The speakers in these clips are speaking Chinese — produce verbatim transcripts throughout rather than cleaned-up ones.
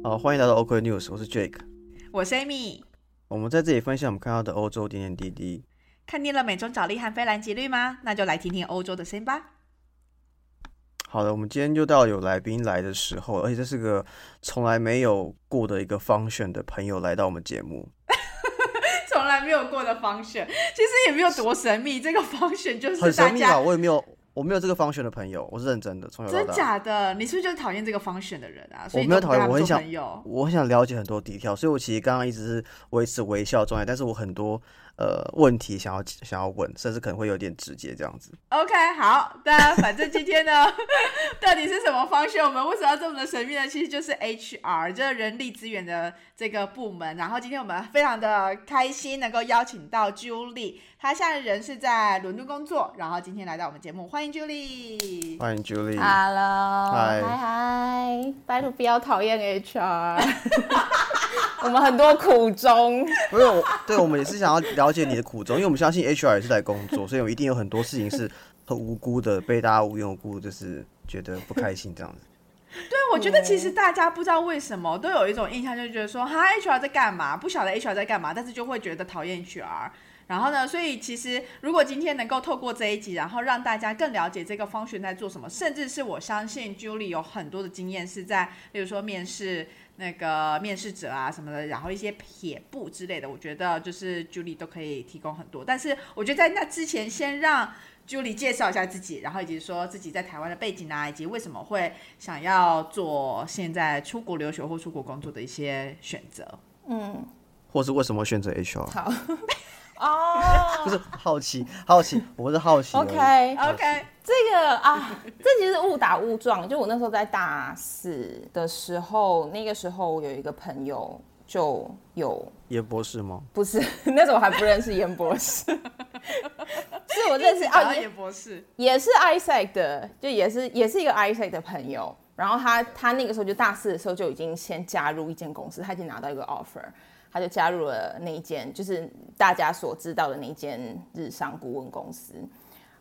好，欢迎来到 OK News， 我是 Jake， 我是 Amy。 我们在这里分享我们看到的欧洲点点滴滴。 看腻了美中角力和非蓝即绿吗？那就来听听欧洲的声音吧。 好的，我们今天就到有来宾来的时候，而且这是个从来没有过的一个 function 的朋友来到我们节目。 从来没有过的 function， 其实也没有多神秘。这个 function 就是大家很神秘啊，我也没有。我没有这个 function 的朋友，我是认真的，从小到大。 真假的？你是不是就是讨厌这个 function 的人啊？所以我没有讨厌，我很想， 友我很想了解很多底条，所以我其实刚刚一直是维持微笑状态，但是我很多呃问题想要想要问，甚至可能会有点直接这样子。 OK， 好，那反正今天呢，到底是什么 function？ 我们为什么要这么的神秘呢？其实就是 H R， 就是人力资源的这个部门。然后今天我们非常的开心能够邀请到 Julie， 她现在人是在伦敦工作，然后今天来到我们节目，欢迎 Julie。 欢迎 Julie。Hello， 嗨嗨，拜托不要讨厌 H R， 我们很多苦衷。 不是，对，我们也是想要了解你的苦衷，因为我们相信 H R 也是来工作，所以我们一定有很多事情是很无辜的，被大家无缘无故就是觉得不开心这样子。 对，我觉得其实大家不知道为什么都有一种印象，就觉得说哈 H R 在干嘛，不晓得 H R 在干嘛，但是就会觉得讨厌 H R。然后呢，所以其实如果今天能够透过这一集，然后让大家更了解这个function在做什么，甚至是我相信 Julie 有很多的经验是在，例如说面试那个面试者啊什么的，然后一些撇步之类的，我觉得就是 Julie 都可以提供很多。但是我觉得在那之前，先让 Julie 介绍一下自己，然后以及说自己在台湾的背景啊，以及为什么会想要做现在出国留学或出国工作的一些选择。 嗯， 或是为什么选择 H R？ 好。哦， 不是好奇，好奇，我是好奇。 OK OK， 这个啊，这其实误打误撞。就我那时候在大四的时候，那个时候有一个朋友就有严博士吗？ 不是，那时候我还不认识严博士，是我认识啊，严博士也是 I S A C 的，就也是也是一个 I S A C 的朋友。然后他他那个时候就大四的时候就已经先加入一间公司，他已经拿到一个 offer。他就加入了那一间，就是大家所知道的那一间日商顾问公司，啊、um, ，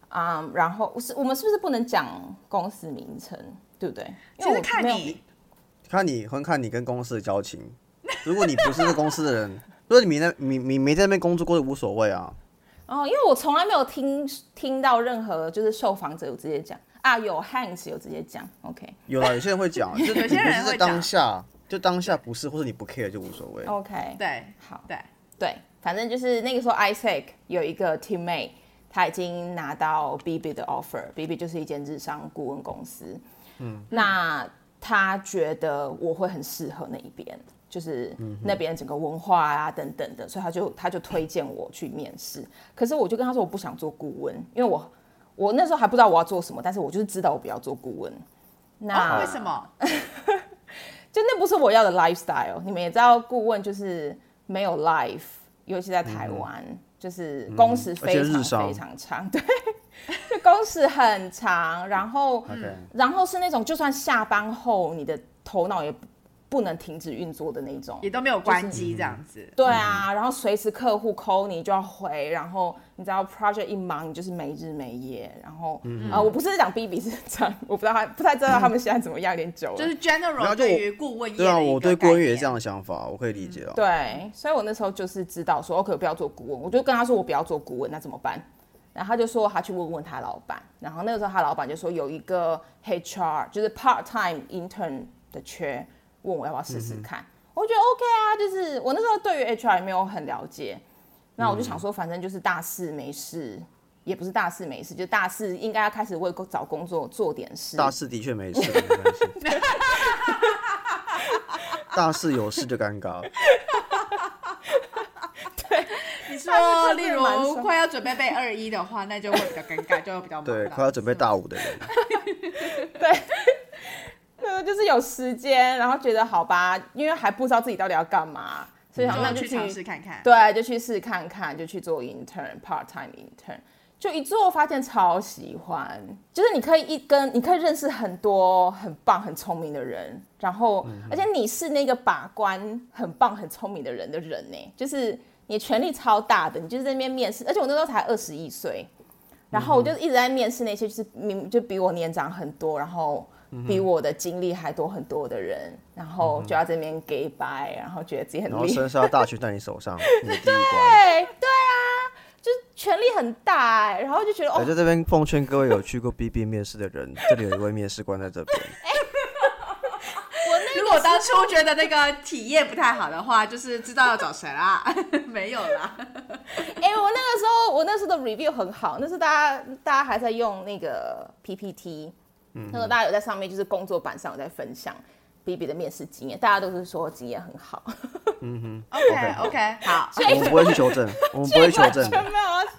然后是我们是不是不能讲公司名称，对不对？ 其实看你， 看你，很看你跟公司的交情。如果你不是这公司的人，如果你没在你你没在那边工作过，就无所谓啊。 哦，因为我从来没有听听到任何就是受访者有直接讲啊，有 Hans 有直接讲 ，OK， 有啦，有些人会讲，就有些人会讲，当下。就当下不是，或者你不 care 就无所谓。 OK， 对， 好， 对对，反正就是那个时候 I S A C 有一个 teammate， 他已经拿到 B B 的 offer，B B 就是一间日商顾问公司。嗯，那他觉得我会很适合那一边，就是那边整个文化啊等等的，所以他就他就推荐我去面试。可是我就跟他说我不想做顾问，因为我我那时候还不知道我要做什么，但是我就是知道我不要做顾问。 那、哦、为什么？ 就那不是我要的 lifestyle， 你们也知道，顾问就是没有 life， 尤其在台湾，嗯、就是工时非常非常长，对，就工时很长，然后， okay. 然后是那种就算下班后，你的头脑也不能停止运作的那种， 也都没有关机这样子。 就是、对啊，然后随时客户 call 你就要回，然后你知道 project 一忙你就是没日没夜，然后、嗯呃、我不是讲 B B 是这样，我不知道他不太知道他们现在怎么样，有点久了。 就是 general 对于顾问业的一个概念。 对啊，我对顾问业这样的想法，我可以理解啊。 对，所以我那时候就是知道说 OK 我不要做顾问，我就跟他说我不要做顾问，那怎么办？然后他就说他去问问他老板，然后那个时候他老板就说有一个 H R 就是 part time intern 的缺。问我要不要试试看、嗯，我觉得 OK 啊，就是我那时候对于 H R 也没有很了解，那我就想说，反正就是大四没事，也不是大四没事，就大四应该要开始为找工作做点事。 大四的确没事，没关系。大四有事就尴尬。 对， 你说，例如快要准备背二一的话，那就会比较尴尬，就会比较忙。 对，快要准备大五的人。 对。就是有时间，然后觉得好吧，因为还不知道自己到底要干嘛，所以想那就去尝试看看。 对，就去试看看，就去做 intern part time intern， 就一做发现超喜欢，就是你可以一跟你可以认识很多很棒很聪明的人，然后、嗯、而且你是那个把关很棒很聪明的人的人呢，就是你权力超大的，你就是在那边面试，而且我那时候才二十一岁，然后我就一直在面试那些就是就比我年长很多，然后比我的经历还多很多的人，然后就要这边给白，然后觉得自己很厉害， 然后生杀大权在你手上，你的第一关。 对对啊，就是权力很大、欸，然后就觉得哦， 我在这边奉劝各位有去过 B B 面试的人，这里有一位面试官在这边。 如果当初觉得那个体验不太好的话，就是知道要找谁啦。没有啦。 哎、欸，我那个时候，我那时候的 review 很好，那时候大家大家还在用那个 P P T，、嗯、那时候大家有在上面就是工作板上有在分享 B B 的面试经验，大家都是说经验很好。 嗯哼 ，OK OK， 好， 我们不会去求证，我们不会求证的。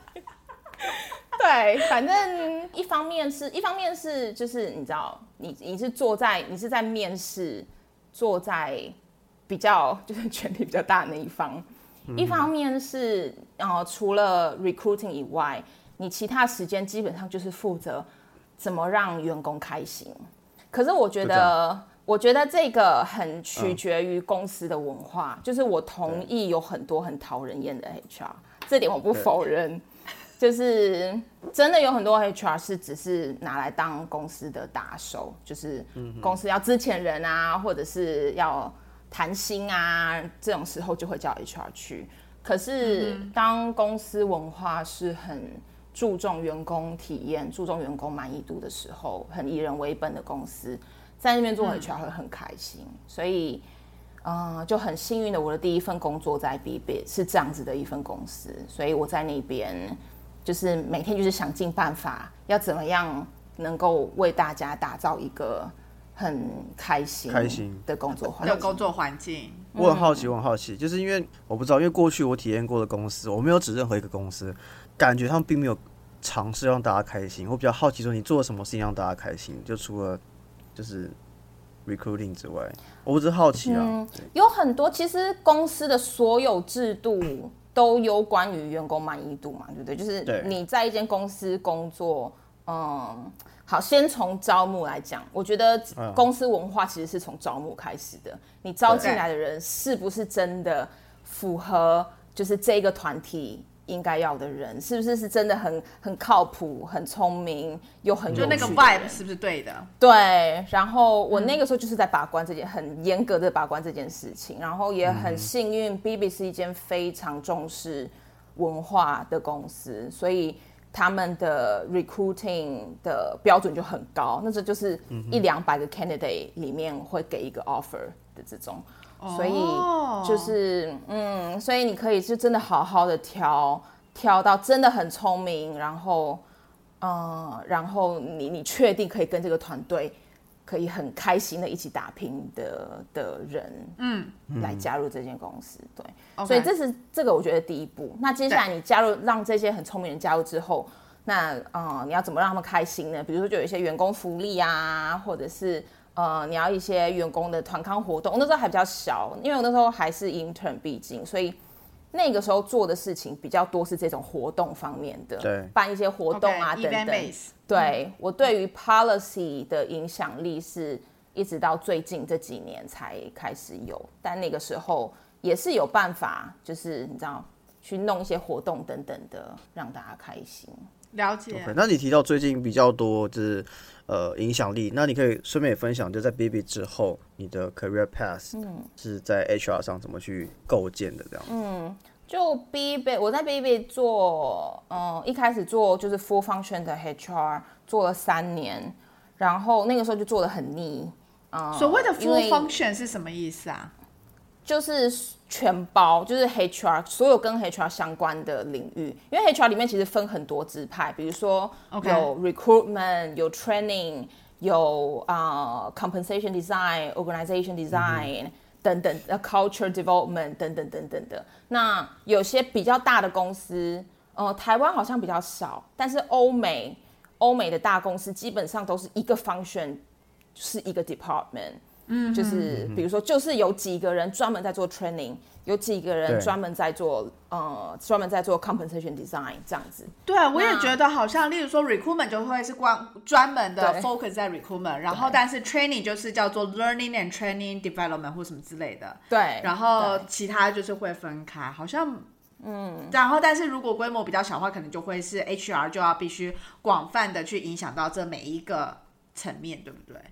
对，反正一方面是一方面是就是你知道，你你是坐在你是在面试，坐在比较就是权力比较大的那一方。嗯、一方面是呃除了 recruiting 以外，你其他时间基本上就是负责怎么让员工开心。可是我觉得，我觉得这个很取决于公司的文化。嗯、就是我同意有很多很讨人厌的 H R， 这点我不否认。就是真的有很多 H R 是只是拿来当公司的打手，就是公司要资遣人啊，或者是要谈薪啊，这种时候就会叫 H R 去。可是当公司文化是很注重员工体验、注重员工满意度的时候，很以人为本的公司，在那边做 H R 会很开心。嗯、所以，呃，就很幸运的，我的第一份工作在 B B 是这样子的一份公司，所以我在那边。就是每天就是想尽办法，要怎么样能够为大家打造一个很开心、 开心的工作环境。 的工作环境， 我很好奇，我很好奇，就是因为我不知道，因为过去我体验过的公司，我没有指任何一个公司，感觉他们并没有尝试让大家开心。我比较好奇，说你做了什么事情让大家开心？就除了就是 recruiting 之外，我只是好奇啊、嗯。 有很多，其实公司的所有制度。都有关于员工满意度嘛，对不对？就是你在一间公司工作，嗯，好，先从招募来讲，我觉得公司文化其实是从招募开始的。你招进来的人是不是真的符合就是这个团体应该要的人？是不是是真的很很靠谱、很聪明又很有趣的人？ 就那个 vibe 是不是对的？ 对。然后我那个时候就是在把关这件、嗯、很严格的把关这件事情，然后也很幸运 ，B B 是一间非常重视文化的公司，所以他们的 recruiting 的标准就很高，那这就是一两百个 candidate 里面会给一个 offer 的这种。所以就是，嗯，所以你可以是真的好好的挑，挑到真的很聪明，然后，嗯，然后你你确定可以跟这个团队可以很开心的一起打拼的的人，嗯，来加入这间公司，对， okay. 所以这是这个我觉得第一步。那接下来你加入，让这些很聪明的人加入之后，那嗯，你要怎么让他们开心呢？比如说就有一些员工福利啊，或者是。呃，你要一些员工的团康活动，我那时候还比较小，因为我那时候还是 intern， 毕竟，所以那个时候做的事情比较多是这种活动方面的， 对， 办一些活动啊、okay, 等等。对、嗯、我对于 policy 的影响力是一直到最近这几年才开始有，但那个时候也是有办法，就是你知道去弄一些活动等等的，让大家开心。 了解。 Okay, 那你提到最近比较多就是呃影响力，那你可以顺便也分享，就在 B B 之后，你的 career path 是在 H R 上怎么去构建的这样？ 嗯，就 B B 我在 B B 做，嗯，一开始做就是 full function 的 H R， 做了三年，然后那个时候就做得很腻。嗯、 所谓的 full function 是什么意思啊？ 就是全包，就是 H R 所有跟 H R 相关的领域，因为 H R 里面其实分很多支派，比如说有 recruitment， 有 training， 有、uh, compensation design、organization design、嗯、等等 culture development 等等等等的。那有些比较大的公司，呃，台湾好像比较少，但是欧美欧美的大公司基本上都是一个 function， 就是一个 department。嗯，就是比如说，就是有几个人专门在做 training， 有几个人专门在做呃专门在做 compensation design 这样子。 对，我也觉得好像，例如说 recruitment 就会是光专门的 focus 在 recruitment， 然后但是 training 就是叫做 learning and training development 或什么之类的。 对， 然后其他就是会分开，好像。嗯，然后但是如果规模比较小的话，可能就会是 H R 就要必须广泛的去影响到这每一个层面，对不对？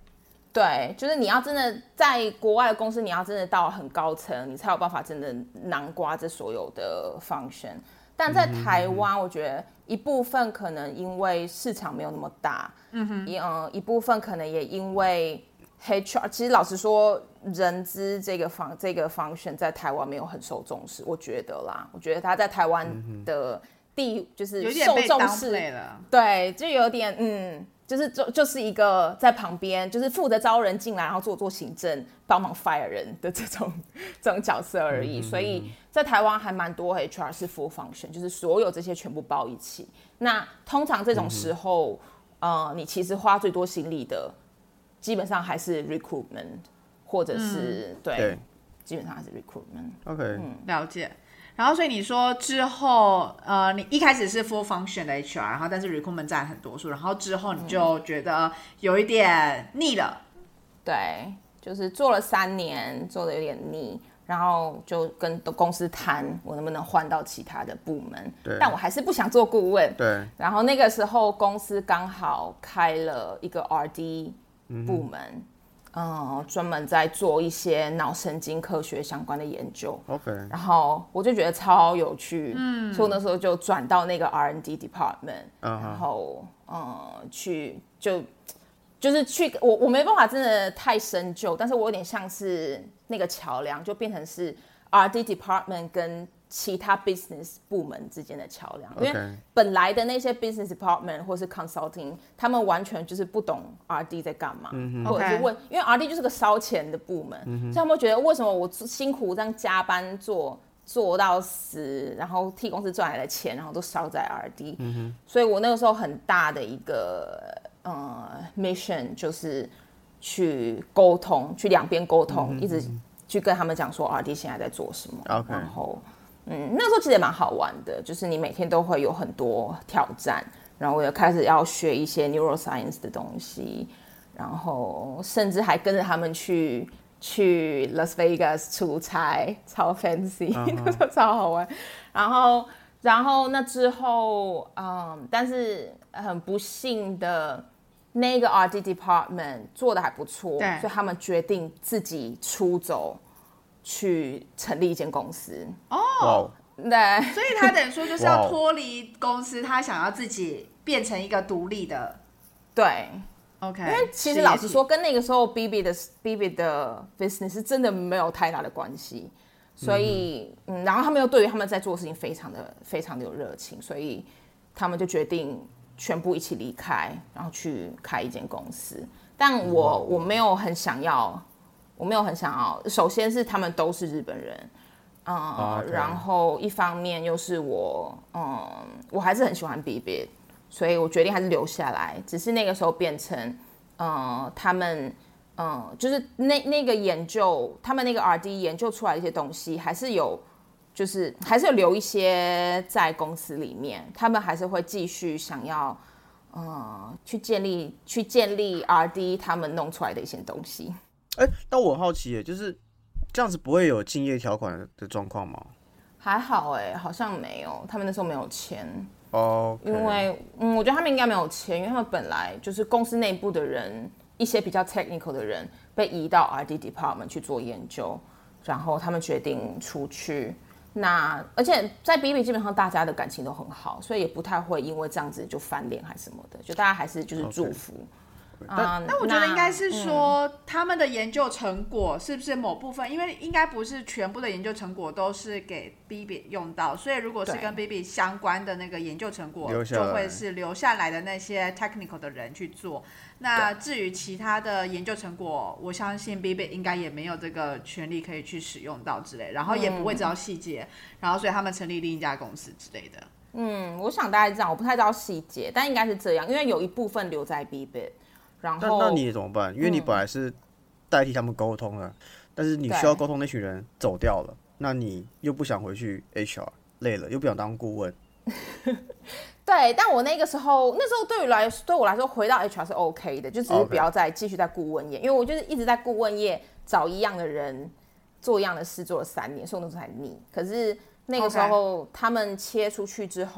对，就是你要真的在国外的公司，你要真的到很高层，你才有办法真的囊括这所有的 function。但在台湾，我觉得一部分可能因为市场没有那么大，嗯哼，一嗯一部分可能也因为 H R， 其实老实说，人资这个方这个 function 在台湾没有很受重视，我觉得啦，我觉得他在台湾的地就是受重视了， 对，就有点嗯。就是就就是一个在旁边，就是负责招人进来，然后做做行政，帮忙 fire 人的这种这种角色而已。嗯、所以在台湾还蛮多 H R 是 full function， 就是所有这些全部包一起。那通常这种时候，嗯、呃，你其实花最多心力的，基本上还是 recruitment， 或者是、嗯、对, 对，基本上还是 recruitment。 OK， 嗯，了解。然后，所以你说之后，呃，你一开始是 full function 的 H R， 然后但是 recruitment 占很多数，然后之后你就觉得有一点腻了， 嗯、对，就是做了三年，做的有点腻，然后就跟公司谈我能不能换到其他的部门，但我还是不想做顾问， 对。 然后那个时候公司刚好开了一个 R D 部门。嗯嗯，专门在做一些脑神经科学相关的研究。 OK， 然后我就觉得超有趣，嗯，所以我那时候就转到那个 R and D department，、uh-huh. 然后嗯，去就就是去我我没办法真的太深究，但是我有点像是那个桥梁，就变成是 R and D department 跟其他 business 部门之间的桥梁， okay. 因为本来的那些 business department 或是 consulting， 他们完全就是不懂 R D 在干嘛，嗯、或者是问， okay. 因为 R D 就是个烧钱的部门，嗯、所以他们会觉得为什么我辛苦这样加班做做到死，然后替公司赚来的钱，然后都烧在 R D，嗯、所以我那个时候很大的一个呃 mission 就是去沟通，去两边沟通，嗯、一直去跟他们讲说 R D 现在在做什么， okay. 然后。嗯，那时候其实也蛮好玩的，就是你每天都会有很多挑战，然后我也开始要学一些 neuroscience 的东西，然后甚至还跟着他们去去 Las Vegas 出差，超 fancy，、uh-huh. 那时候超好玩。然后，然后那之后，嗯，但是很不幸的，那个 R D department 做的还不错，所以他们决定自己出走。去成立一間公司哦， wow. 对， 所以他等于说就是要脱离公司， wow. 他想要自己变成一个独立的， 对 ，OK。 因为其实老实说，跟那个时候 B B 的 B B 的 business 是真的没有太大的关系，所以嗯，嗯，然后他们又对于他们在做的事情非常的非常的有热情，所以他们就决定全部一起离开，然后去开一间公司。但我、wow. 我没有很想要。我没有很想要，首先是他们都是日本人，嗯， oh, okay. 然后一方面又是我，嗯，我还是很喜欢 B B， 所以我决定还是留下来。只是那个时候变成，嗯，他们，嗯，就是那那个研究，他们那个 R D 研究出来的一些东西，还是有，就是还是有留一些在公司里面，他们还是会继续想要，嗯，去建立去建立 R D 他们弄出来的一些东西。 哎、欸，但我很好奇耶，就是这样子不会有竞业条款的状况吗？ 还好哎，好像没有，他们那时候没有签哦， okay. 因为嗯，我觉得他们应该没有签，因为他们本来就是公司内部的人，一些比较 technical 的人被移到 R D department 去做研究，然后他们决定出去。那而且在 B B 基本上大家的感情都很好，所以也不太会因为这样子就翻脸还是什么的，就大家还是就是祝福。Okay. 但, 但我觉得应该是说、嗯、他们的研究成果是不是某部分，因为应该不是全部的研究成果都是给 B B 用到，所以如果是跟 B B 相关的那个研究成果就会是留下来的那些 technical 的人去做。那至于其他的研究成果，我相信 B B 应该也没有这个权利可以去使用到之类，然后也不会知道细节、嗯、然后所以他们成立另一家公司之类的。 嗯，我想大概这样，我不太知道细节，但应该是这样，因为有一部分留在 B B。然后那, 那你怎么办？因为你本来是代替他们沟通了、嗯，但是你需要沟通那群人走掉了，那你又不想回去 H R， 累了又不想当顾问。 对，但我那个时候，那时候对于来对我来说，回到 H R 是 OK 的，就只是不要再继续在顾问业， okay. 因为我就是一直在顾问业找一样的人做一样的事，做了三年，所以我那时候才腻。可是那个时候、okay. 他们切出去之后。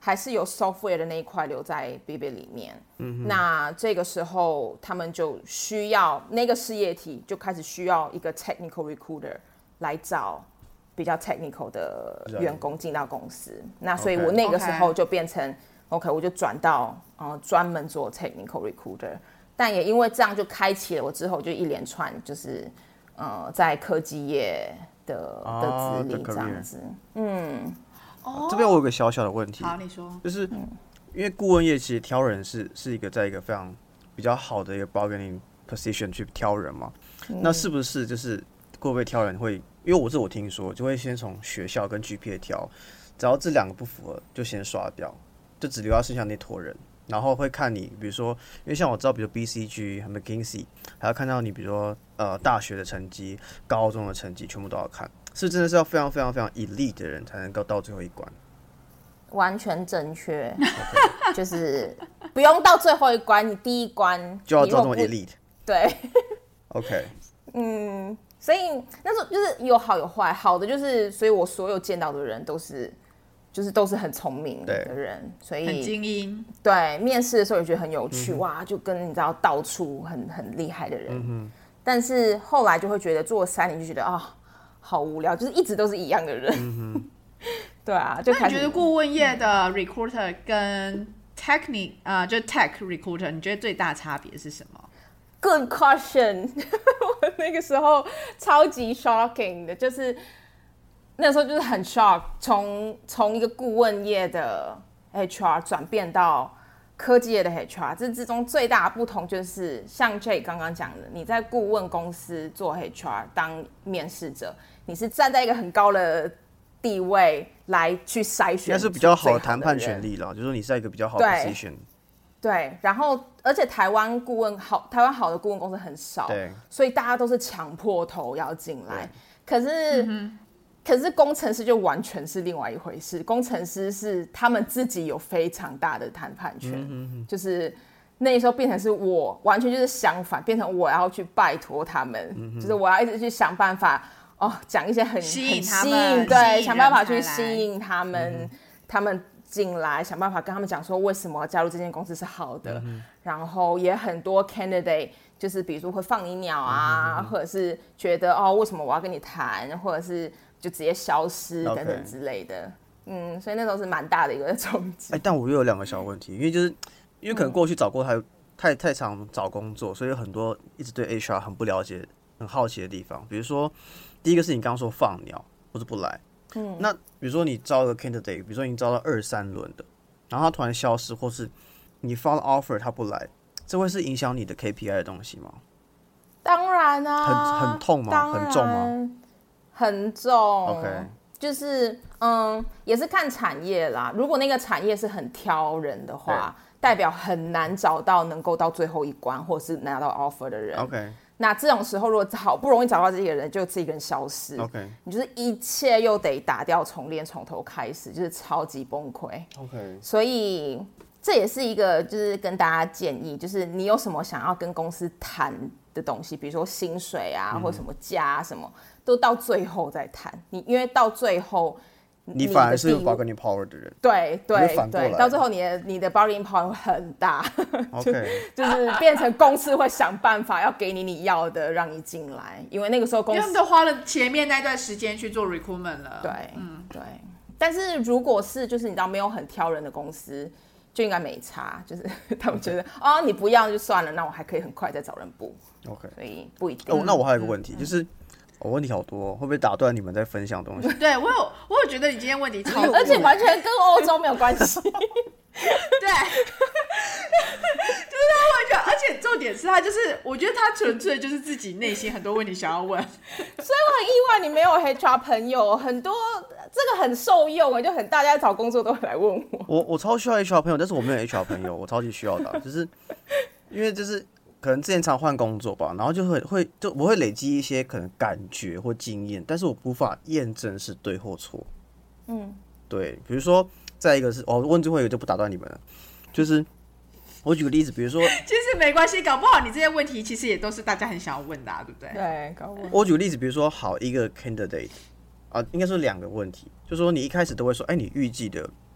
还是有 software 的那一块留在 Bibit 里面。嗯，那这个时候他们就需要那个事业体就开始需要一个 technical recruiter 来找比较 technical 的员工进到公司。那所以我那个时候就变成 OK， 我就转到呃专门做 technical recruiter。但也因为这样就开启了我之后就一连串就是呃在科技业的的资历这样子。嗯， 哦，这边我有个小小的问题。 好，你说。 就是因为顾问业其实挑人是是一个在一个非常比较好的一个 bargaining position 去挑人嘛。嗯、那是不是就是会不会挑人会？因为我是我听说就会先从学校跟 G P A 挑，只要这两个不符合就先刷掉，就只留下剩下那坨人。然后会看你，比如说，因为像我知道，比如 B C G 和 McKinsey， 还要看到你，比如说呃大学的成绩、高中的成绩，全部都要看，是真的是要非常非常非常 elite 的人才能够到最后一关。 完全正确， okay. 就是不用到最后一关，你第一关就要到这么 elite。 对 ，OK， 嗯，所以那时候就是有好有坏，好的就是，所以我所有见到的人都是。就是都是很聪明的人，所以很精英。 对，面试的时候也觉得很有趣，嗯、哇，就跟你知道到处很很厉害的人。嗯、但是后来就会觉得做了三年就觉得啊、哦，好无聊，就是一直都是一样的人。嗯、对啊，就开始。 那你觉得顾问业的 recruiter 跟 technic 啊、呃，就 tech recruiter， 你觉得最大差别是什么 ？Good question 。我那个时候超级 shocking 的，就是。那时候就是很 shock， 从从一个顾问业的 H R 转变到科技业的 H R， 这之中最大的不同就是像 Jay 刚刚讲的，你在顾问公司做 H R 当面试者，你是站在一个很高的地位来去筛选， 应该是比较好的谈判权利了，就是说你在一个比较好的 position。 对，然后而且台湾顾问好，台湾好的顾问公司很少， 对， 所以大家都是抢破头要进来，可是。嗯可是工程师就完全是另外一回事，工程师是他们自己有非常大的谈判权，嗯、哼哼就是那时候变成是我完全就是相反，变成我要去拜托他们，嗯、就是我要一直去想办法哦，讲一些很吸引他们， 很吸引对，想办法去吸引他们，嗯、他们进来，想办法跟他们讲说为什么加入这间公司是好的，嗯、然后也很多 candidate 就是比如说会放你鸟啊，嗯、或者是觉得哦为什么我要跟你谈，或者是。就直接消失等等之类的， okay. 嗯，所以那时候是蛮大的一个冲击。 哎，但我又有两个小问题，因为就是因为可能过去找过太、嗯、太太常找工作，所以有很多一直对 H R 很不了解、很好奇的地方。比如说，第一个是你刚刚说放鸟或者不来，嗯，那比如说你招了 candidate， 比如说你招到二三轮的，然后他突然消失，或是你发了 offer 他不来，这会是影响你的 K P I 的东西吗？ 当然啊， 很很痛吗？很重吗？ 很重 ，OK， 就是嗯，也是看产业啦。如果那个产业是很挑人的话，代表很难找到能够到最后一关，或是拿到 offer 的人。 OK， 那这种时候，如果好不容易找到这个人，就这个人消失 ，OK， 你就是一切又得打掉重练，从头开始，就是超级崩溃。 OK， 所以这也是一个，就是跟大家建议，就是你有什么想要跟公司谈的东西，比如说薪水啊，嗯、或者什么价啊什么。都到最后再谈，你因为到最后你反而是有 bargaining power 的人， 对对对，到最后你的你的 bargaining power 会很大， okay. 就, 就是变成公司会想办法要给你你要的，让你进来，因为那个时候公司因为他们都花了前面那段时间去做 recruitment 了， 对，嗯对。但是如果是就是你知道没有很挑人的公司，就应该没差，就是他们觉得啊、okay. 哦、你不要就算了，那我还可以很快再找人补 ，OK， 所以不一定。 哦，那我还有一个问题、嗯、就是。我、哦、问题好多，会不会打断你们在分享东西？ 对我有，我有觉得你今天问题超多， 而且完全跟欧洲没有关系。对，就是他会觉得，而且重点是他就是，我觉得他纯粹就是自己内心很多问题想要问， 所以我很意外你没有 H R 朋友，很多这个很受用哎，就很大家找工作都会来问我。 我我超需要 H R 朋友，但是我没有 H R 朋友，我超级需要的，就是因为就是。可能之前常换工作吧，然后就会会就我会累积一些可能感觉或经验，但是我无法验证是对或错。嗯，对，比如说再一个是，哦，问最后一个就不打断你们了，就是我举个例子，比如说， 其实没关系，搞不好你这些问题其实也都是大家很想要问的、啊，对不对？ 对，搞不好。 我举个例子，比如说好一个 candidate 啊，应该说两个问题，就是说你一开始都会说，哎，你预计的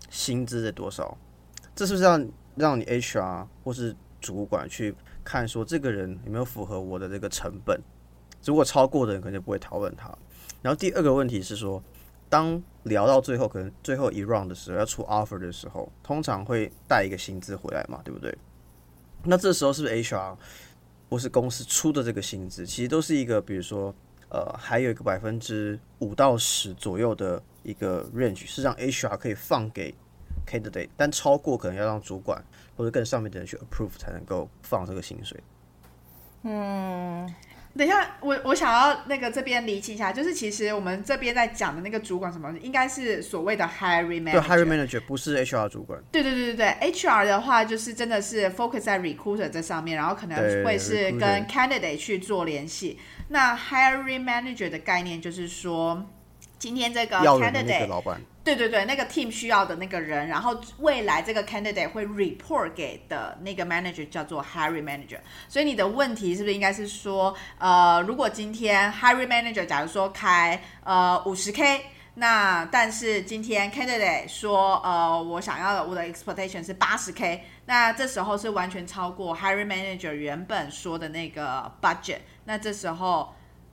薪资的多少？这是不是让让你 H R 或是主管去看说这个人有没有符合我的这个成本？如果超过的人可能就不会讨论他。然后第二个问题是说，当聊到最后，可能最后一 round 的时候要出 offer 的时候，通常会带一个薪资回来嘛，对不对？那这时候是不是 H R 或是公司出的这个薪资，其实都是一个，比如说，呃，还有一个百分之五到十左右的一个 range， 是让 H R 可以放给 candidate， 但超过可能要让主管或者更上面的人去 approve 才能够放这个薪水。 嗯。 等一下，我我想要那个这边厘清一下，就是其实我们这边在讲的那个主管什么，应该是所谓的 hiring manager， 对 hiring manager 不是 H R 主管。 对对对对对 ，H R 的话就是真的是 focus 在 recruiter 这上面，然后可能会是跟 candidate 去做联系。那 hiring manager 的概念就是说，今天这个 candidate 老板。 对对对，那个 team 需要的那个人，然后未来这个 candidate 会 report 给的那个 manager 叫做 hiring manager。所以你的问题是不是应该是说，呃，如果今天 hiring manager 假如说开呃 五十K， 那但是今天 candidate 说，呃，我想要的我的 expectation 是八十K， 那这时候是完全超过 hiring manager 原本说的那个 budget， 那这时候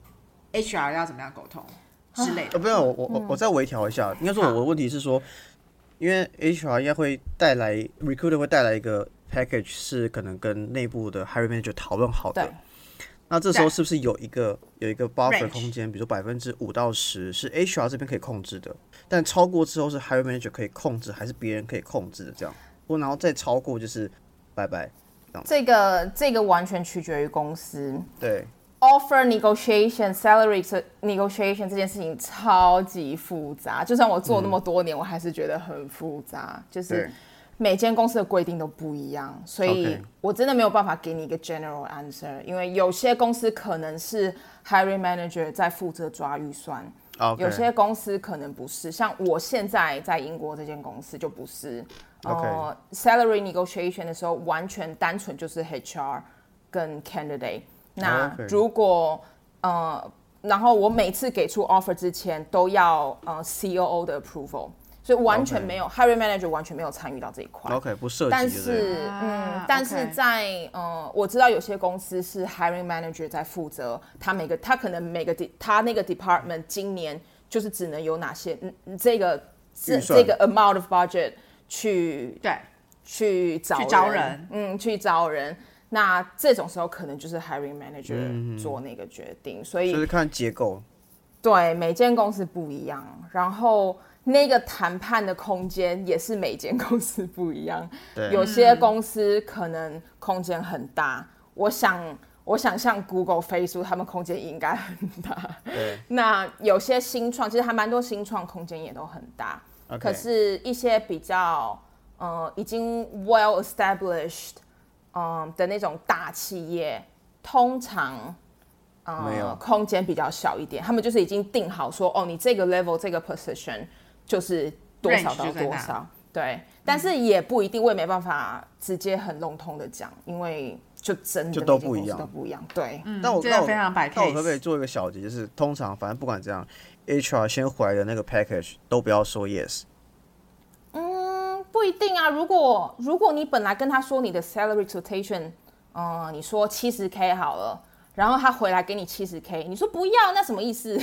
H R 要怎么样沟通？之类的， 呃，不要，我我我再微调一下。应该说我的问题是说，因为 H R 应该会带来 recruiter 会带来一个 package， 是可能跟内部的 hiring manager 讨论好的。那这时候是不是有一个有一个 buffer 空间，比如说百分之五到十是 H R 这边可以控制的，但超过之后是 hiring manager 可以控制，还是别人可以控制的这样？或然后再超过就是拜拜。 这个这个完全取决于公司。 对。 Offer negotiation, salary negotiation 这件事情超级复杂，就算我做那么多年，嗯、我还是觉得很复杂。就是每间公司的规定都不一样，所以我真的没有办法给你一个 general answer， 因为有些公司可能是 hiring manager 在负责抓预算， okay. 有些公司可能不是。像我现在在英国这间公司就不是。 Okay. 呃 salary negotiation 的时候，完全单纯就是 H R 跟 candidate。那如果、oh, okay. 呃，然后我每次给出 offer 之前都要呃 C O O 的 approval， 所以完全没有、okay. hiring manager 完全没有参与到这一块。 OK， 不涉及。 但是嗯，但是在、okay. 呃，我知道有些公司是 hiring manager 在负责，他每个他可能每个他那个 department 今年就是只能有哪些嗯这个这这个 amount of budget 去对去找人去招人嗯去招人。那这种时候可能就是 hiring manager 做那个决定，嗯、所以就是看结构。 对，每间公司不一样，然后那个谈判的空间也是每间公司不一样。有些公司可能空间很大，我想，我想像 Google、Facebook 他们空间应该很大。 对。 那有些新创，其实还蛮多新创空间也都很大。 Okay. 可是，一些比较呃已经 well established。嗯的那种大企业，通常呃空间比较小一点，他们就是已经定好说，哦，你这个 level 这个 position 就是多少到多少，对、嗯，但是也不一定，我也没办法直接很笼统的讲，因为就真的就都不一样， 都不一样，对。 嗯， 但我这个非常摆 case。 那我可不可以做一个小结，就是通常反正不管怎样 ，H R 先回来的那个 package 都不要说 yes。 不一定啊，如果如果你本来跟他说你的 salary expectation， 嗯、呃，你说七十 K 好了，然后他回来给你七十 K， 你说不要，那什么意思？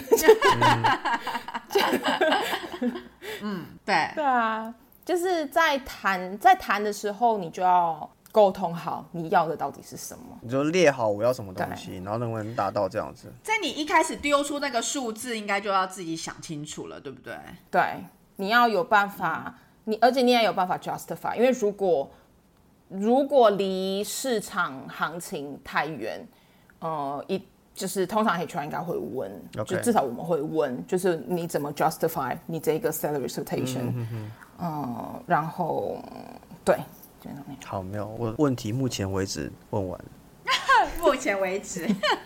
嗯，对， 对啊，就是在谈在谈的时候，你就要沟通好你要的到底是什么， 你就列好我要什么东西，然后能不能达到这样子。 在你一开始丢出那个数字，应该就要自己想清楚了，对不对？ 对，你要有办法。你而且你也有办法 justify， 因为如果如果离市场行情太远，呃，一就是通常 H R 应该会问， okay. 就至少我们会问，就是你怎么 justify 你这个 salary expectation， 嗯, 嗯, 嗯，然后对，就那样。 好，没有，我问题目前为止问完了。 目前为止，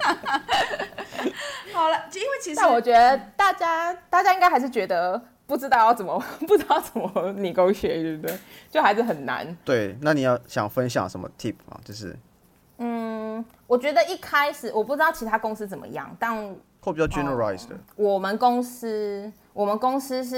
好了，因为其实， 但我觉得大家大家应该还是觉得。不知道要怎么，不知道怎么 negotiate， 对不对？就还是很难。 对，那你要想分享什么 tip 吗？就是， 嗯，我觉得一开始我不知道其他公司怎么样，但会比较 generalized 的、 呃。我们公司，我们公司是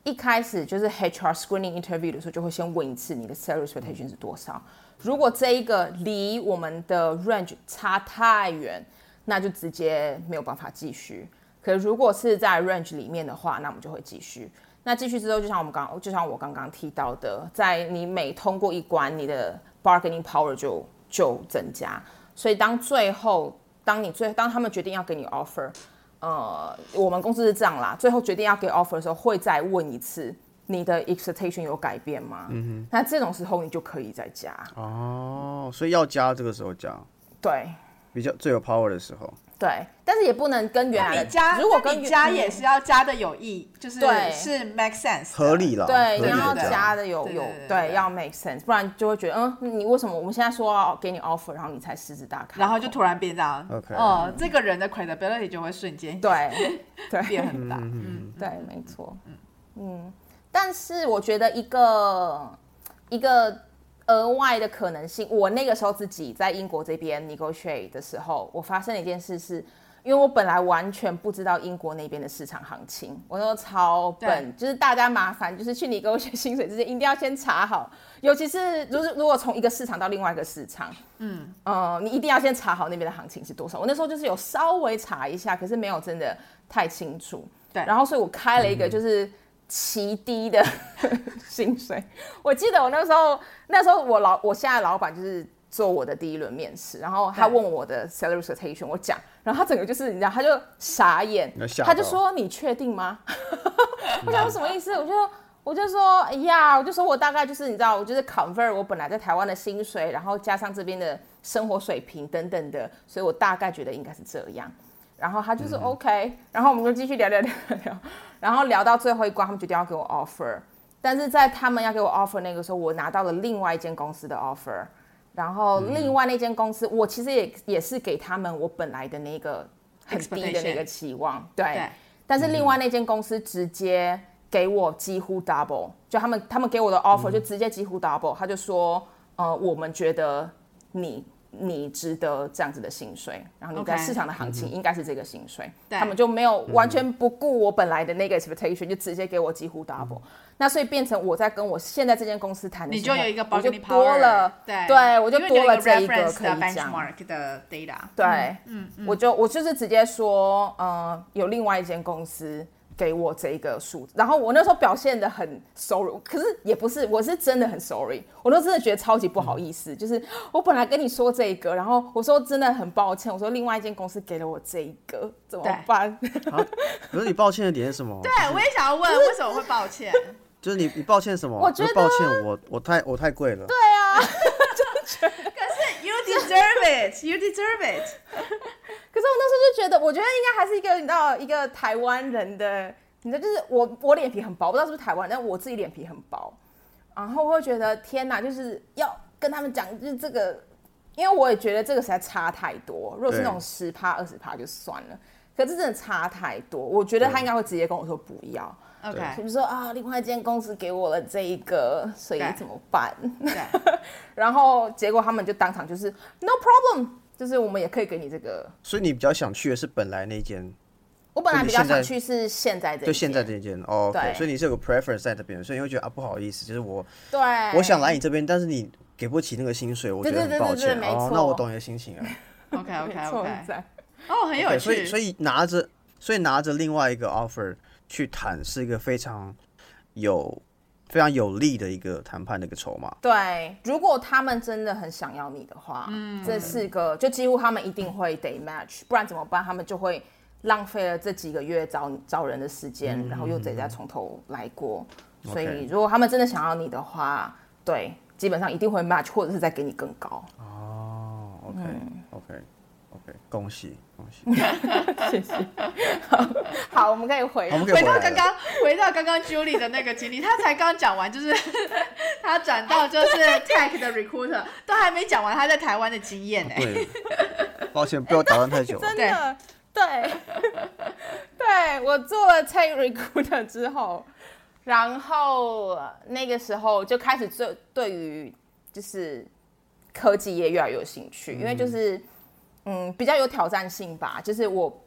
一开始就是 H R screening interview 的时候，就会先问一次你的 salary expectation 是多少。如果这一个离我们的 range 差太远，那就直接没有办法继续。可是如果是在 range 里面的话，那我们就会继续。那继续之后，就像我们刚，就像我刚刚提到的，在你每通过一关，你的 bargaining power 就就增加。所以当最后，当你最当他们决定要给你 offer， 呃，我们公司是这样啦，最后决定要给 offer 的时候，会再问一次。你的 expectation 有改变吗？嗯哼，那这种时候你就可以再加。 哦，所以要加这个时候加。 对， 比较最有 power 的时候。 对，但是也不能跟原来的加， 如果跟你加也是要加的有意，就是是 make sense 合理了。 对，你要加的有有对，要 make sense， 不然就会觉得嗯，你为什么我们现在说要给你 offer， 然后你才狮子大开， 然后就突然变这样， OK， 哦，这个人的 credibility 就会瞬间对对变很大，嗯， 对，没错，嗯嗯。但是我觉得一个一个额外的可能性，我那个时候自己在英国这边 negotiate 的时候，我发生了一件事是，因为我本来完全不知道英国那边的市场行情，我都超笨，就是大家麻烦就是去negotiate薪水之前一定要先查好，尤其是如如果从一个市场到另外一个市场，嗯呃，你一定要先查好那边的行情是多少。我那时候就是有稍微查一下，可是没有真的太清楚。 对， 然后所以我开了一个就是。嗯奇低的薪水，我记得我那时候，那时候我老我现在老板就是做我的第一轮面试，然后他问我的 salary expectation， 我讲，然后他整个就是你知道，他就傻眼，他就说你确定吗？我想说什么意思？我就我就说哎呀，我就说我大概就是你知道，我就是 convert 我本来在台湾的薪水，然后加上这边的生活水平等等的，所以我大概觉得应该是这样。然后他就说 OK， 然后我们就继续聊聊聊聊，然后聊到最后一关，他们决定要给我 offer。但是在他们要给我 offer 那个时候，我拿到了另外一间公司的 offer， 然后另外那间公司，我其实也也是给他们我本来的那个很低的那个期望，对。对但是另外那间公司直接给我几乎 double， 就他们他们给我的 offer 就直接几乎 double， 他就说，呃，我们觉得你。你值得这样子的薪水，然后你在市场的行情应该是这个薪水， okay. 他们就没有完全不顾我本来的那个 expectation， 就直接给我几乎 double，、嗯、那所以变成我在跟我现在这间公司谈的时候， 你就有一个 bargaining power， 多了，对，对我就多了这一个可以讲 benchmark 的 data， 对， 嗯嗯， 我就我就是直接说，呃，有另外一间公司。给我这一个数字，然后我那时候表现得很 sorry， 可是也不是，我是真的很 sorry， 我都真的觉得超级不好意思，嗯、就是我本来跟你说这个，然后我说真的很抱歉，我说另外一间公司给了我这一个，怎么办？ 啊、可是你抱歉的点是什么？ 对，我也想要问，为什么会抱歉？ 就是你你抱歉什么？ 我觉得抱歉我我太我太贵了。 对啊， 可是 you deserve it, you deserve it。 可是我那时候就觉得，我觉得应该还是一个你知道一个台湾人的，你知道就是我我脸皮很薄，不知道是不是台湾，但我自己脸皮很薄，然后我会觉得天哪，就是要跟他们讲，就是这个，因为我也觉得这个实在差太多。如果是那种十趴二十趴就算了，可是真的差太多，我觉得他应该会直接跟我说不要。 OK， 比如说啊，另外一间公司给我了这一个，所以怎么办？然后结果他们就当场就是 no problem。就是我们也可以给你这个， 所以你比较想去的是本来那间。 我本来比较想去是现在这间， 就现在这间哦、okay ，所以你是有个 preference 在这边，所以你会觉得啊不好意思，就是我， 对， 我想来你这边，但是你给不起那个薪水，我觉得很抱歉。 对对对对对， 哦，那我懂你的心情了。 OK OK OK， 哦，很有趣。 Okay, 所以所以拿着，所以拿着另外一个 offer 去谈，是一个非常有。非常有利的一个谈判的一个筹码。 对，如果他们真的很想要你的话，嗯，这是个就几乎他们一定会得 match， 不然怎么办？他们就会浪费了这几个月招招人的时间，嗯、然后又得再从头来过。嗯、所以如果他们真的想要你的话，对，基本上一定会 match， 或者是再给你更高。 哦 ，OK，OK、嗯。Okay, okay.OK， 恭喜恭喜， 谢谢。好，好，我们可以回回回到刚刚，回到刚刚 Julie 的那个经历，他才刚讲完，就是他转到就是 tech 的 recruiter， 都还没讲完他在台湾的经验呢。 对，抱歉，被我打断太久了。 真的，对，对我做了 tech recruiter 之后，然后那个时候就开始对对于就是科技业越来越有兴趣，因为就是。嗯，比较有挑战性吧，就是我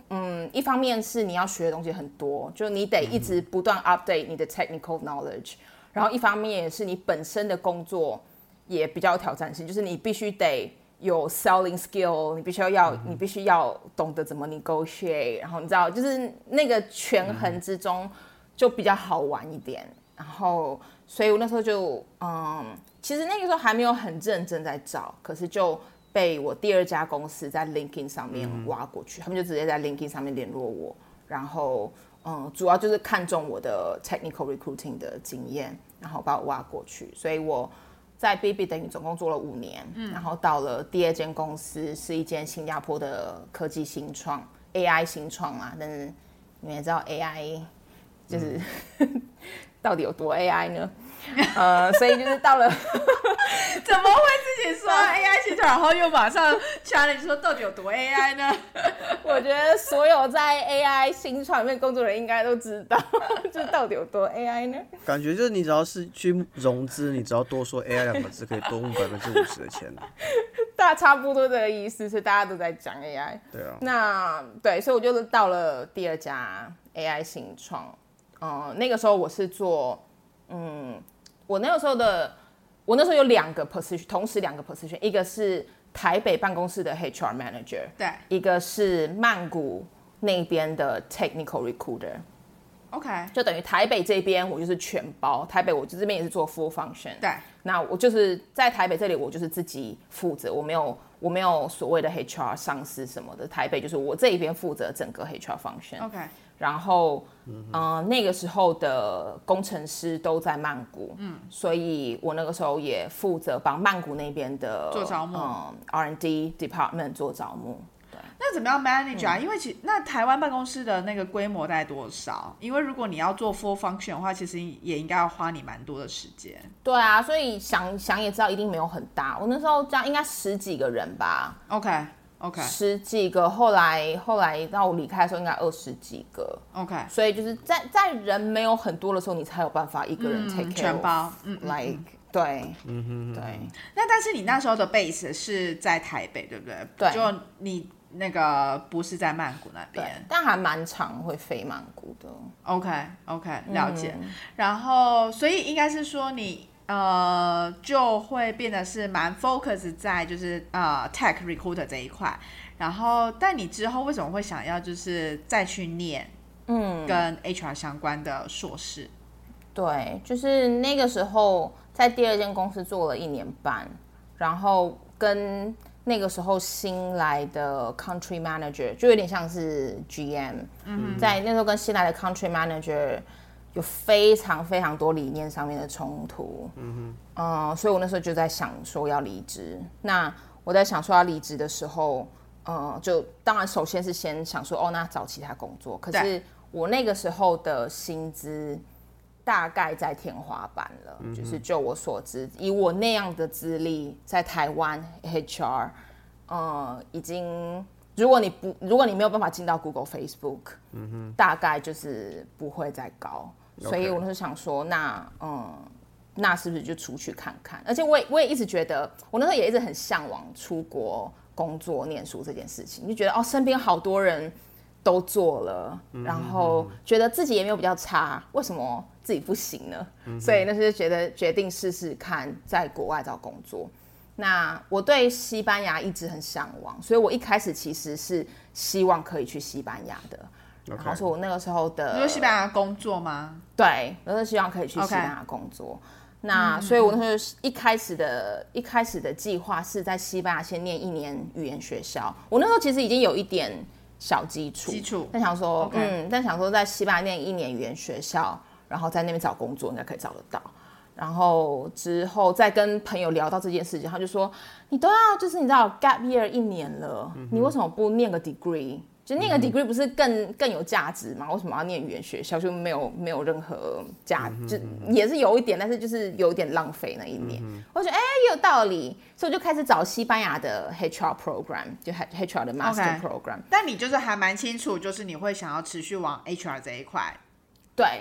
嗯，一方面是你要学的东西很多，就你得一直不断 update 你的 technical knowledge，、嗯、然后一方面也是你本身的工作也比较有挑战性，就是你必须得有 selling skill， 你必须要、嗯、你必须要懂得怎么 negotiate， 然后你知道，就是那个权衡之中就比较好玩一点。然后，所以我那时候就，嗯，其实那个时候还没有很认真在找，可是就被我第二家公司在 LinkedIn 上面挖过去，嗯、他们就直接在 LinkedIn 上面联络我，然后，嗯，主要就是看中我的 technical recruiting 的经验，然后把我挖过去，所以我在 B B 等于总共做了五年，嗯、然后到了第二间公司是一间新加坡的科技新创 A I 新创嘛，但是你们也知道 A I 就是、嗯、到底有多 A I 呢？呃，所以就是到了， 怎么会自己说 A I 新创，然后又马上 challenge 说到底有多 A I 呢？ 我觉得所有在 A I 新创里面工作的人应该都知道，就是到底有多 A I 呢？ 感觉就是你只要是去融资，你只要多说 A I 两个字，可以多募百分之五十的钱。 大差不多这个意思，是大家都在讲 A I。 对啊。 那对，所以我就到了第二家 A I 新创。嗯，那个时候我是做，嗯，我那个时候的，我那时候有两个 position， 同时两个 position， 一个是台北办公室的 H R manager， 对， 一个是曼谷那边的 technical recruiter。OK， 就等于台北这边我就是全包，台北我这边也是做 full function。 对， 那我就是在台北这里，我就是自己负责，我没有我没有所谓的 H R 上司什么的，台北就是我这一边负责整个 H R function。OK。然后，嗯、呃，那个时候的工程师都在曼谷，嗯，所以我那个时候也负责帮曼谷那边的做招募， 嗯 ，R and D department 做招募。对， 那怎么样 manage 啊？嗯、因为其那台湾办公室的那个规模大概多少？因为如果你要做 full function 的话，其实也应该要花你蛮多的时间。 对啊，所以想想也知道一定没有很大。我那时候这样应该十几个人吧。 OK。OK， 十几个，后来后来到我离开的时候应该二十几个。 OK， 所以就是在在人没有很多的时候，你才有办法一个人 take care、嗯、 全包。嗯 ，like 对， 嗯哼对。 那但是你那时候的 base 是在台北，对不对？ 对。 就你那个不是在曼谷那边， 但还蛮常会飞曼谷的。 OK OK， 了解。嗯、然后所以应该是说你。呃，就会变得是蛮 focus 在就是呃 tech recruiter 这一块，然后但你之后为什么会想要就是再去念嗯跟 H R 相关的硕士？ 对，就是那个时候在第二间公司做了一年半，然后跟那个时候新来的 country manager 就有点像是 G M，嗯，在那时候跟新来的 country manager。有非常非常多理念上面的冲突，嗯哼，呃，所以我那时候就在想说要离职。那我在想说要离职的时候，呃，就当然首先是先想说，哦，那找其他工作。可是我那个时候的薪资大概在天花板了，嗯、就是就我所知，以我那样的资历，在台湾 H R， 呃，已经。如果你不，如果你没有办法进到 Google、Facebook，嗯哼，大概就是不会再高。Okay. 所以我那时候想说，那嗯，那是不是就出去看看？而且我也我也一直觉得，我那时候也一直很向往出国工作、念书这件事情，就觉得哦，身边好多人都做了，嗯、然后觉得自己也没有比较差，为什么自己不行呢？嗯、所以那时候就觉得决定试试看，在国外找工作。那我对西班牙一直很向往，所以我一开始其实是希望可以去西班牙的。Okay. 然后说我那个时候的， 你说西班牙工作吗？ 对，我是希望可以去西班牙工作。Okay. 那所以我那时候一开始的一开始的计划是在西班牙先念一年语言学校。我那时候其实已经有一点小基础， 基础， 但想说， okay. 嗯，但想说在西班牙念一年语言学校，然后在那边找工作应该可以找得到。然后之后再跟朋友聊到这件事情，他就说：“你都要就是你知道 gap year 一年了，嗯、你为什么不念个 degree？ 就念个 degree 不是更更有价值吗？为什么要念语言学校？就没有没有任何价，嗯、就也是有一点，但是就是有一点浪费那一年。嗯、我觉得哎也有道理，所以我就开始找西班牙的 H R program， 就 H R 的 master program。Okay. 但你就是还蛮清楚，就是你会想要持续往 H R 这一块。 对。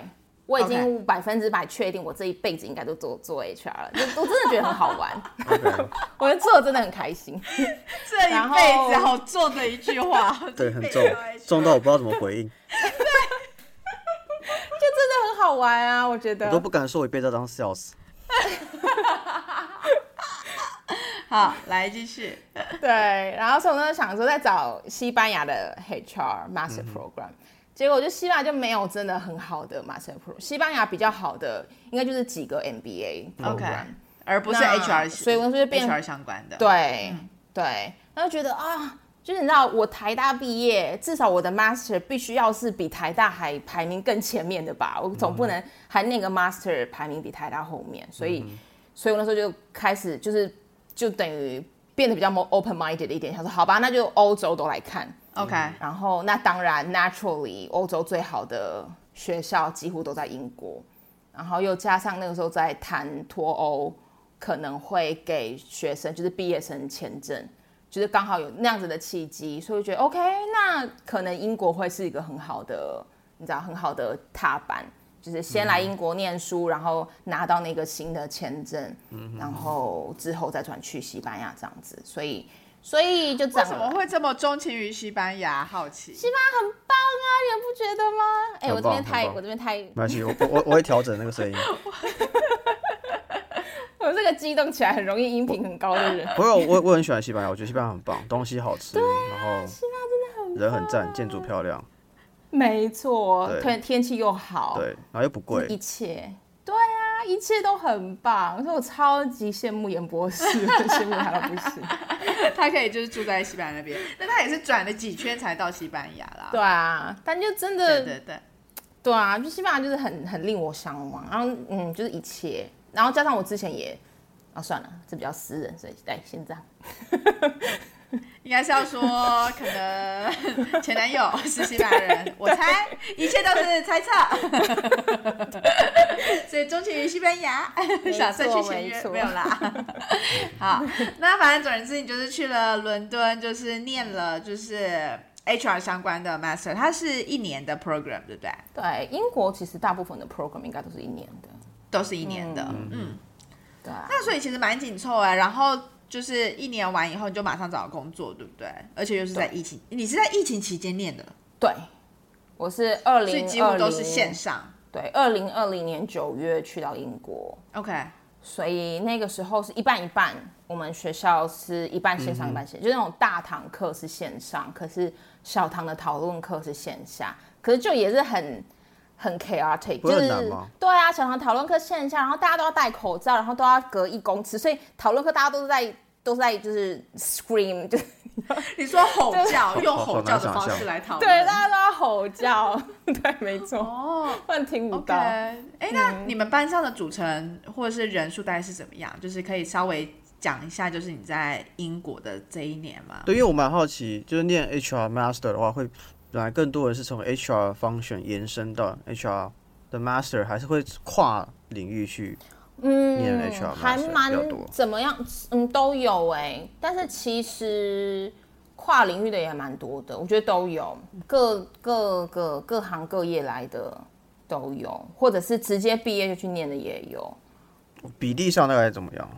我已经百分之百确定我这一辈子应该都做做 H R 了，就我真的觉得很好玩。 Okay. 我觉得做的真的很开心。 这一辈子好重的一句话， 对，很重，重到我不知道怎么回应。 就真的很好玩啊，我觉得。 我都不敢说我一辈子要当 sales。 好，来继续。 对，然后所以我那时候想说在找西班牙的 H R Master Program，、嗯、结果就西班牙就没有真的很好的 Master Program， 西班牙比较好的应该就是几个 M B A Program，、okay. 而不是 H R， 所以我那时候就变 H R 相关的。 对、 嗯、 对，然后觉得啊。就是你知道，我台大毕业，至少我的 master 必须要是比台大还排名更前面的吧？我总不能还那个 master 排名比台大后面，所以，嗯、所以我那时候就开始就是就等于变得比较 more open minded 一点，想说好吧，那就欧洲都来看 ，OK。 然后那当然 naturally 欧洲最好的学校几乎都在英国，然后又加上那个时候在谈脱欧，可能会给学生就是毕业生签证。就是刚好有那样子的契机，所以我觉得 OK， 那可能英国会是一个很好的，你知道，很好的踏板，就是先来英国念书，嗯、然后拿到那个新的签证，嗯、然后之后再转去西班牙这样子，所以所以就这样。 为什么会这么钟情于西班牙？好奇。 西班牙很棒啊，你们不觉得吗？哎、欸，我这边太，我这边太， 没关系，我我我会调整那个声音。 我这个激动起来很容易音频很高的人。 不是，我我很喜欢西班牙，我觉得西班牙很棒，东西好吃， 啊、 然后西班牙真的很棒， 人很赞，建筑漂亮。 没错，天天气又好， 对，然后又不贵， 一切，对啊，一切都很棒。所以我超级羡慕严博士，羡慕他到不行。 他可以就是住在西班牙那边，但他也是转了几圈才到西班牙啦。 对啊，但就真的， 对对对， 对啊，就西班牙就是很很令我向往，然后嗯，就是一切。然后加上我之前也，啊算了，这比较私人，所以哎先这样。 应该是要说，可能前男友是西班牙人，我猜，一切都是猜测。所以钟情于西班牙，想再去签约，没有啦。好，那反正总而言之，你就是去了伦敦，就是念了就是 H R 相关的 Master， 它是一年的 program， 对不对？ 对，英国其实大部分的 program 应该都是一年的。 都是一年的，嗯，嗯对啊， 那所以其实蛮紧凑哎。然后就是一年完以后，你就马上找工作，对不对？而且又是在疫情，你是在疫情期间念的？ 对，我是二零， 所以几乎都是线上。 对，二零二零年九月去到英国 ，OK， 所以那个时候是一半一半。我们学校是一半线上，一半线，就是那种大堂课是线上，可是小堂的讨论课是线下，可是就也是很。很 chaotic， 不是很难吗？ 就是对啊，小堂讨论课线下，然后大家都要戴口罩，然后都要隔一公尺，所以讨论课大家都是在都是在就是 scream， 就是你说吼叫，就是、用吼叫的方式来讨论， 对，大家都要吼叫，对，没错，哦，不然听不到。哎、 okay 欸，那你们班上的组成或者是人数大概是怎么样？就是可以稍微讲一下，就是你在英国的这一年吗？ 对，因为我蛮好奇，就是念 H R Master 的话会。本来更多人是从 H R function 延伸到 H R 的 Master， 还是会跨领域去念 H R Master 还蛮怎么样？嗯，都有哎、欸。但是其实跨领域的也蛮多的，我觉得都有，各各个各行各业来的都有，或者是直接毕业就去念的也有。 比例上大概怎么样？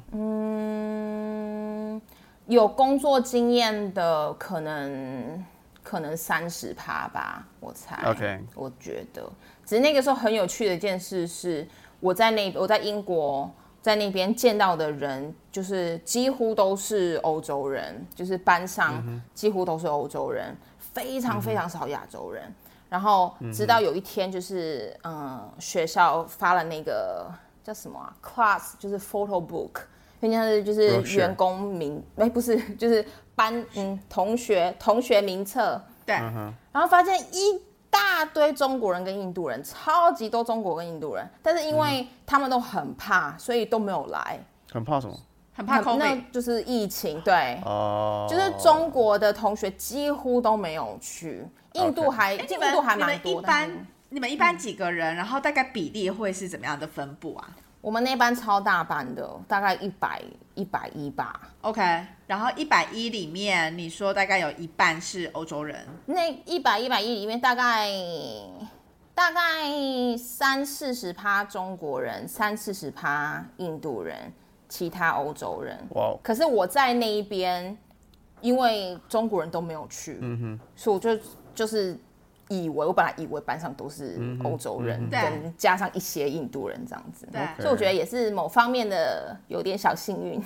嗯，有工作经验的可能。可能三十趴吧，我猜。 OK， 我觉得，只是那个时候很有趣的一件事是，我在那我在英国在那边见到的人，就是几乎都是欧洲人，就是班上几乎都是欧洲人，非常非常少亚洲人。然后直到有一天，就是嗯，学校发了那个叫什么啊 ，class 就是 photo book。人家是就是员工名，哎、欸，不是，就是班嗯同学同学名册， 对， 然后发现一大堆中国人跟印度人，超级多中国跟印度人，但是因为他们都很怕，所以都没有来。 很怕什么？ 很怕 COVID， 那就是疫情，对， 哦， 就是中国的同学几乎都没有去，印度还、 okay. 印度还蛮多。 一般你们一般几个人？然后大概比例会是怎么样的分布啊？ 我们那班超大班的，大概一百一百一吧。 OK， 然后一百一里面，你说大概有一半是欧洲人。 那一百一百一里面，大概大概三四十趴中国人，三四十趴印度人，其他欧洲人。 哇！ 可是我在那一边，因为中国人都没有去，嗯哼，所以我就就是以为我本来以为班上都是欧洲人， 嗯、 跟加上一些印度人这样子， 对， 所以我觉得也是某方面的有点小幸运。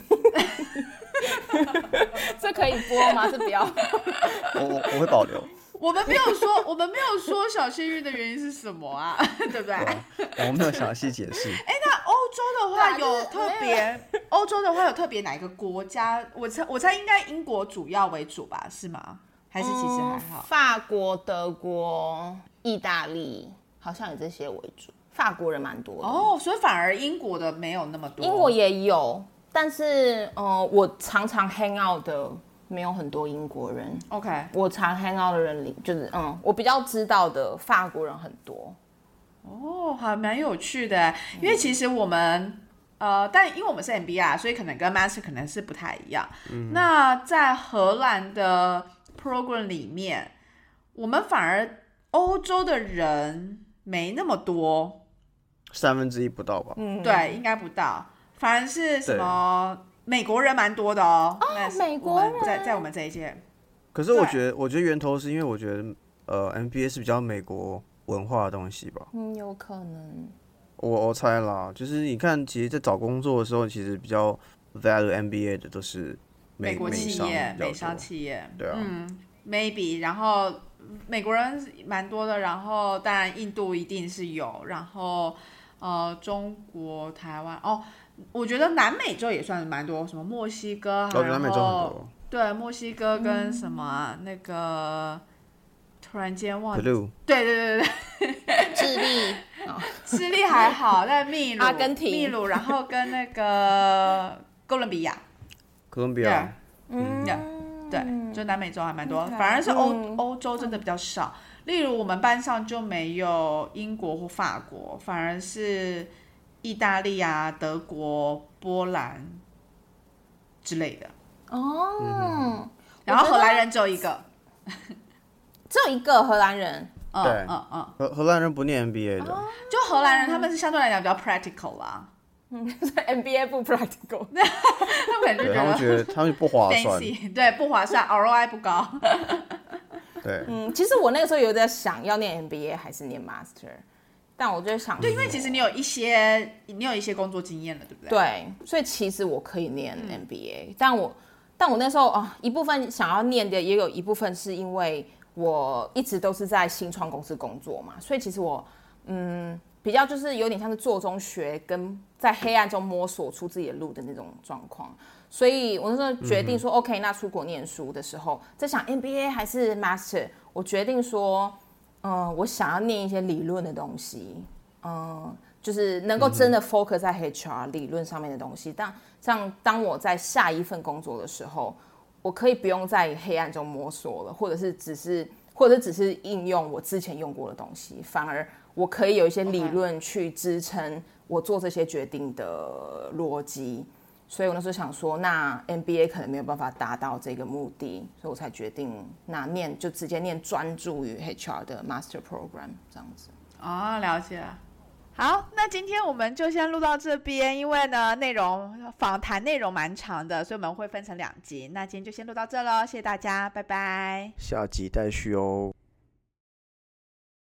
这可以播吗？这不要。 我我我会保留。 我们没有说，我们没有说小幸运的原因是什么啊？对不对？ 我没有详细解释。 哎，那欧洲的话有特别，欧洲的话有特别哪一个国家？我猜我猜应该英国主要为主吧？是吗？还是其实还好？ 嗯、法国、德国、意大利好像以这些为主。法国人蛮多的哦，所以反而英国的没有那么多。 英国也有，但是呃，我常常 hang out 的。没有很多英国人 ，OK， 我常 hang out 的人里，就是嗯，我比较知道的法国人很多。 哦，还蛮有趣的，因为其实我们呃，但因为我们是 M B A， 所以可能跟 Master 可能是不太一样。嗯、那在荷兰的 program 里面，我们反而欧洲的人没那么多， 三分之一不到吧？ 嗯，对，应该不到，反而是什么？美国人蛮多的哦， 哦美国人在在我们这一届。 可是我觉得，我觉得源头是因为我觉得，呃 ，M B A 是比较美国文化的东西吧。 嗯，有可能。 我我猜啦，就是你看，其实，在找工作的时候，其实比较 value M B A 的都是美美国企业、美商企业。 对啊。 嗯 ，maybe， 然后美国人蛮多的，然后当然印度一定是有，然后呃，中国、台湾哦。我觉得南美洲也算是蛮多，什么墨西哥， 哦，南美洲很多。 对，墨西哥跟什么、啊嗯、那个，突然间忘记。 Peru。 对对对对。 智利， 智利还好，但秘鲁、 阿根廷、 秘鲁，然后跟那个哥伦比亚。 哥伦比亚。 嗯，对，就南美洲还蛮多， okay, 反而是欧、嗯、欧洲真的比较少。例如我们班上就没有英国或法国，反而是。意大利啊、德国、波兰之类的哦、嗯， 然后荷兰人只有一个， 只有一个荷兰人。 嗯对， 嗯嗯， 荷荷兰人不念 M B A 的， 哦、就荷兰人他们是相对来讲比较 practical 啦。 嗯 ，M B A 不 practical， 他们可能就觉得他们觉得他们不划算， 对，不划算 ，R O I 不高。 对， 嗯，其实我那个时候有在想要念 M B A 还是念 Master。但我就想， 对，因为其实你有一些，你有一些工作经验了，对不对？ 对，所以其实我可以念 M B A，、嗯、但我，但我那时候啊、哦，一部分想要念的，也有一部分是因为我一直都是在新创公司工作嘛，所以其实我，嗯，比较就是有点像是做中学，跟在黑暗中摸索出自己的路的那种状况。所以我那时候决定说、嗯、，OK， 那出国念书的时候，在想 M B A 还是 Master， 我决定说。嗯，我想要念一些理论的东西，嗯，就是能够真的 focus 在 H R 理论上面的东西。但这样，当我在下一份工作的时候，我可以不用在黑暗中摸索了，或者是只是，或者只是应用我之前用过的东西，反而我可以有一些理论去支撑我做这些决定的逻辑。所以我那时候想说，那 M B A 可能没有办法达到这个目的，所以我才决定那念就直接念专注于 H R 的 Master Program 这样子。 哦，了解。好，那今天我们就先录到这边，因为呢内容访谈内容蛮长的，所以我们会分成两集。那今天就先录到这咯，谢谢大家，拜拜。 下集待续哦。